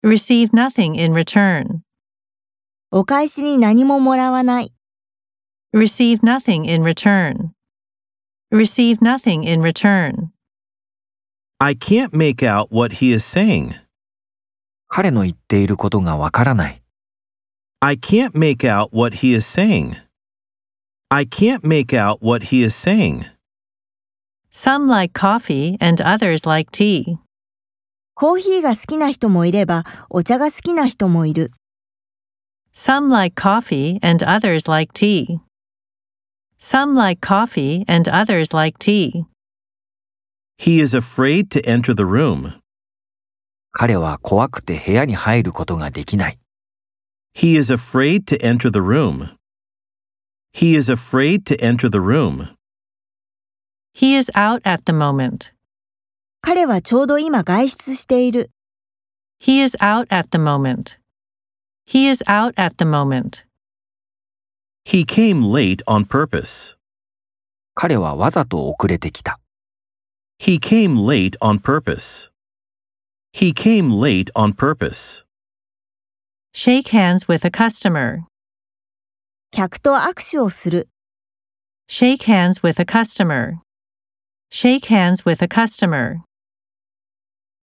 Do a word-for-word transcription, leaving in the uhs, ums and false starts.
Receive nothing in return. お返しに何ももらわない。 Receive nothing in return. Receive nothing in return. I can't make out what he is saying. 彼の言っていることがわからない。 I can't make out what he is saying. I can't make out what he is saying. Some like coffee and others like tea. コーヒーが好きな人もいれば、お茶が好きな人もいる。 Some like coffee and others like tea. Some like coffee and others like tea. He is afraid to enter the room. 彼は怖くて部屋に入ることができない。 He is afraid to enter the room. He is afraid to enter the room. He is out at the moment. 彼はちょうど今外出している。 He is out at the moment. He is out at the moment. He came late on purpose. 彼はわざと遅れてきた。 He came late on purpose. He came late on purpose. Shake hands with a customer. 客と握手をする。 Shake hands with a customer. Shake hands with a customer.